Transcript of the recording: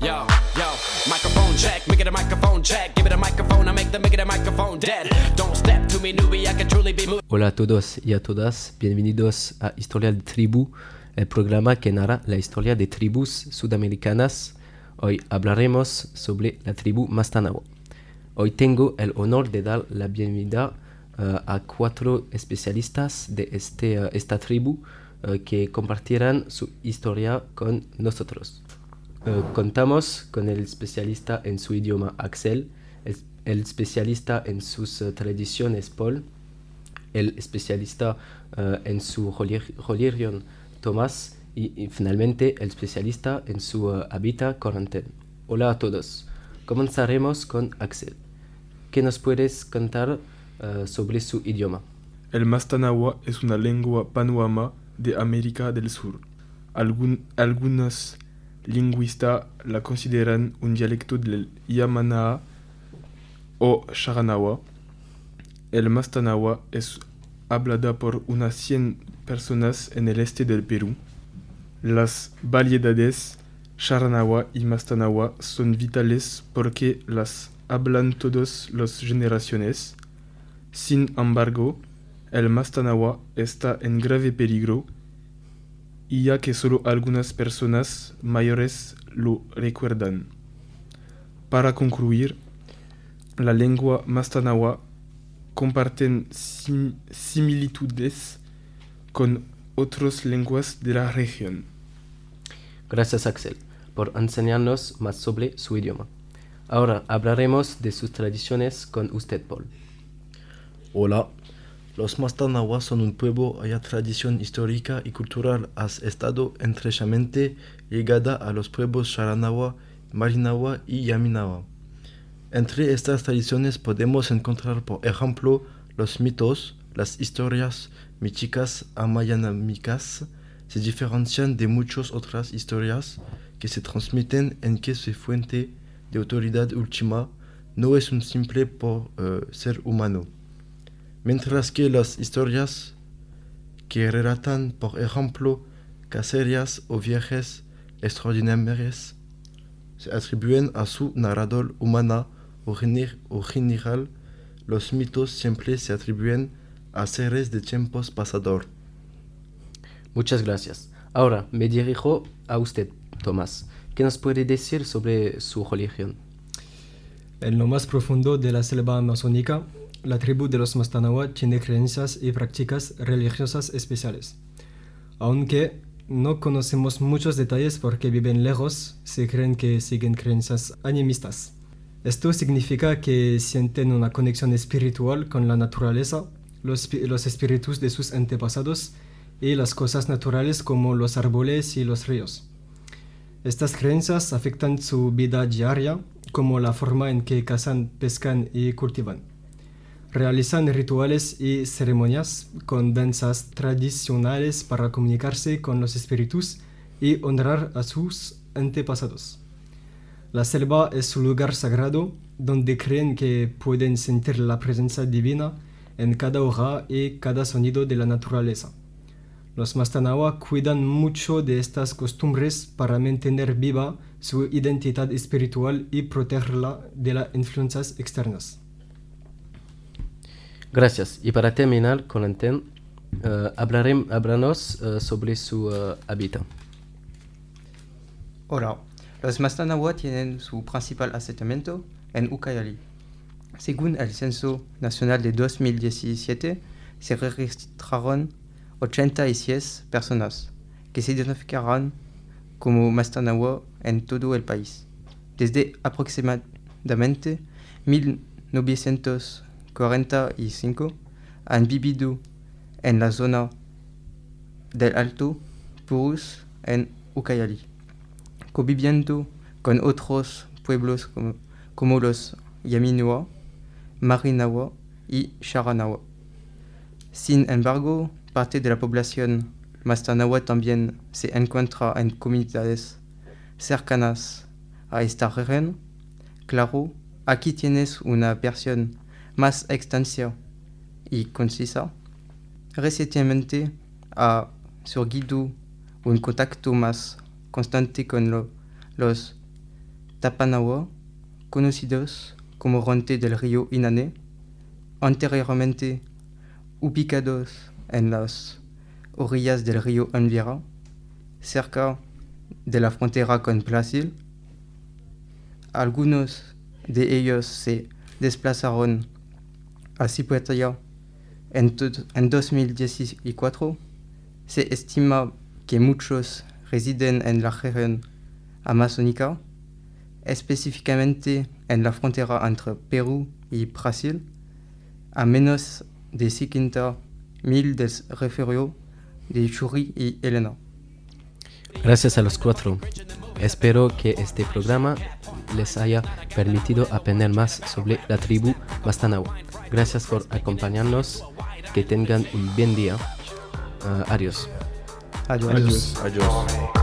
Yo, yo, microphone check, make it a microphone check. Give it a microphone, I make the microphone dead. Don't step to me, newbie, I can truly be moved. Hola a todos y a todas, bienvenidos a Historia de Tribu, el programa que narra la historia de tribus sudamericanas. Hoy hablaremos sobre la tribu Mastanawa. Hoy tengo el honor de dar la bienvenida a 4 especialistas de esta tribu que compartirán su historia con nosotros. Contamos con el especialista en su idioma Axel, el especialista en sus tradiciones Paul, el especialista en su religión Tomás y finalmente el especialista en su hábitat Corentin. Hola a todos. Comenzaremos con Axel. ¿Qué nos puedes contar sobre su idioma? El Mastanawa es una lengua panuama de América del Sur. Algunos lingüistas la consideran un dialecto del Yamanaa o Charanawa. El Mastanawa es hablada por unas 100 personas en el este del Perú. Las variedades Charanawa y Mastanawa son vitales porque las hablan todas las generaciones. Sin embargo, el Mastanawa está en grave peligro, y ya que solo algunas personas mayores lo recuerdan. Para concluir, la lengua Mastanawa comparten similitudes con otras lenguas de la región. Gracias Axel por enseñarnos más sobre su idioma. Ahora hablaremos de sus tradiciones con usted, Paul. Hola, los Mastanawa son un pueblo cuya tradición histórica y cultural ha estado estrechamente ligada a los pueblos Charanawa, Marinawa y Yaminawa. Entre estas tradiciones podemos encontrar, por ejemplo, los mitos, las historias míticas amayanámicas. Se diferencian de muchas otras historias que se transmiten en que su fuente de autoridad última no es un simple ser humano. Mientras que las historias que relatan, por ejemplo, cacerías o viajes extraordinarios, se atribuyen a su narrador humana o general. Los mitos siempre se atribuyen a seres de tiempos pasados. Muchas gracias. Ahora me dirijo a usted, Tomás. ¿Qué nos puede decir sobre su religión? En lo más profundo de la selva amazónica, la tribu de los Mastanawa tiene creencias y prácticas religiosas especiales. Aunque no conocemos muchos detalles porque viven lejos, se creen que siguen creencias animistas. Esto significa que sienten una conexión espiritual con la naturaleza, los espíritus de sus antepasados y las cosas naturales como los árboles y los ríos. Estas creencias afectan su vida diaria, como la forma en que cazan, pescan y cultivan. Realizan rituales y ceremonias con danzas tradicionales para comunicarse con los espíritus y honrar a sus antepasados. La selva es su lugar sagrado, donde creen que pueden sentir la presencia divina en cada hoja y cada sonido de la naturaleza. Los Mastanawa cuidan mucho de estas costumbres para mantener viva su identidad espiritual y protegerla de las influencias externas. Gracias. Y para terminar, Corentin, háblanos sobre su hábitat. Hola, los Mastanawa tienen su principal asentamiento en Ucayali. Según el Censo Nacional de 2017, se registraron 86 personas que se identificaron como Mastanawa en todo el país. Desde aproximadamente 1945 han vivido en la zona del Alto Purus en Ucayali, conviviendo con otros pueblos como los Yaminawa, Marinawa y Charanawa. Sin embargo, parte de la población Mastanawa también se encuentra en comunidades cercanas a esta región. Claro, aquí tienes una versión más extensa y concisa. Recientemente ha surgido un contacto más constante con los Tapanawa, conocidos como Ronte del río Inane, anteriormente ubicados en las orillas del río Anvira, cerca de la frontera con Brasil. Algunos de ellos se desplazaron a Cipuetaya en 2014. Se estima que muchos residen en la región amazónica, específicamente en la frontera entre Perú y Brasil, a menos de 50.000 del refugio de Churi y Elena. Gracias a los cuatro. Espero que este programa les haya permitido aprender más sobre la tribu Mastanawa. Gracias por acompañarnos. Que tengan un buen día. Adiós. Adiós. Adiós. Adiós.